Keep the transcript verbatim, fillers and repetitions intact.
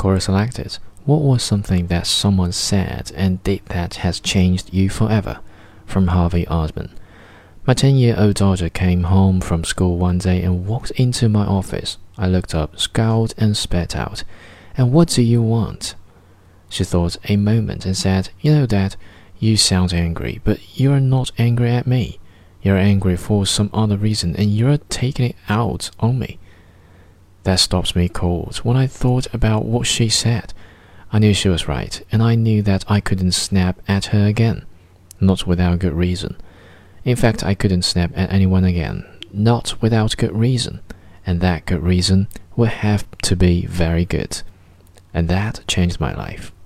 Score selected. What was something that someone said and did that has changed you forever? From Harvey Osmond. My ten-year-old daughter came home from school one day and walked into my office. I looked up, scowled, and spat out, "And what do you want?" She thought a moment and said, "You know, Dad, you sound angry, but you're not angry at me. You're angry for some other reason, and you're taking it out on me." That stopped me cold. When I thought about what she said, I knew she was right, and I knew that I couldn't snap at her again. Not without good reason. In fact, I couldn't snap at anyone again. Not without good reason. And that good reason would have to be very good. And that changed my life.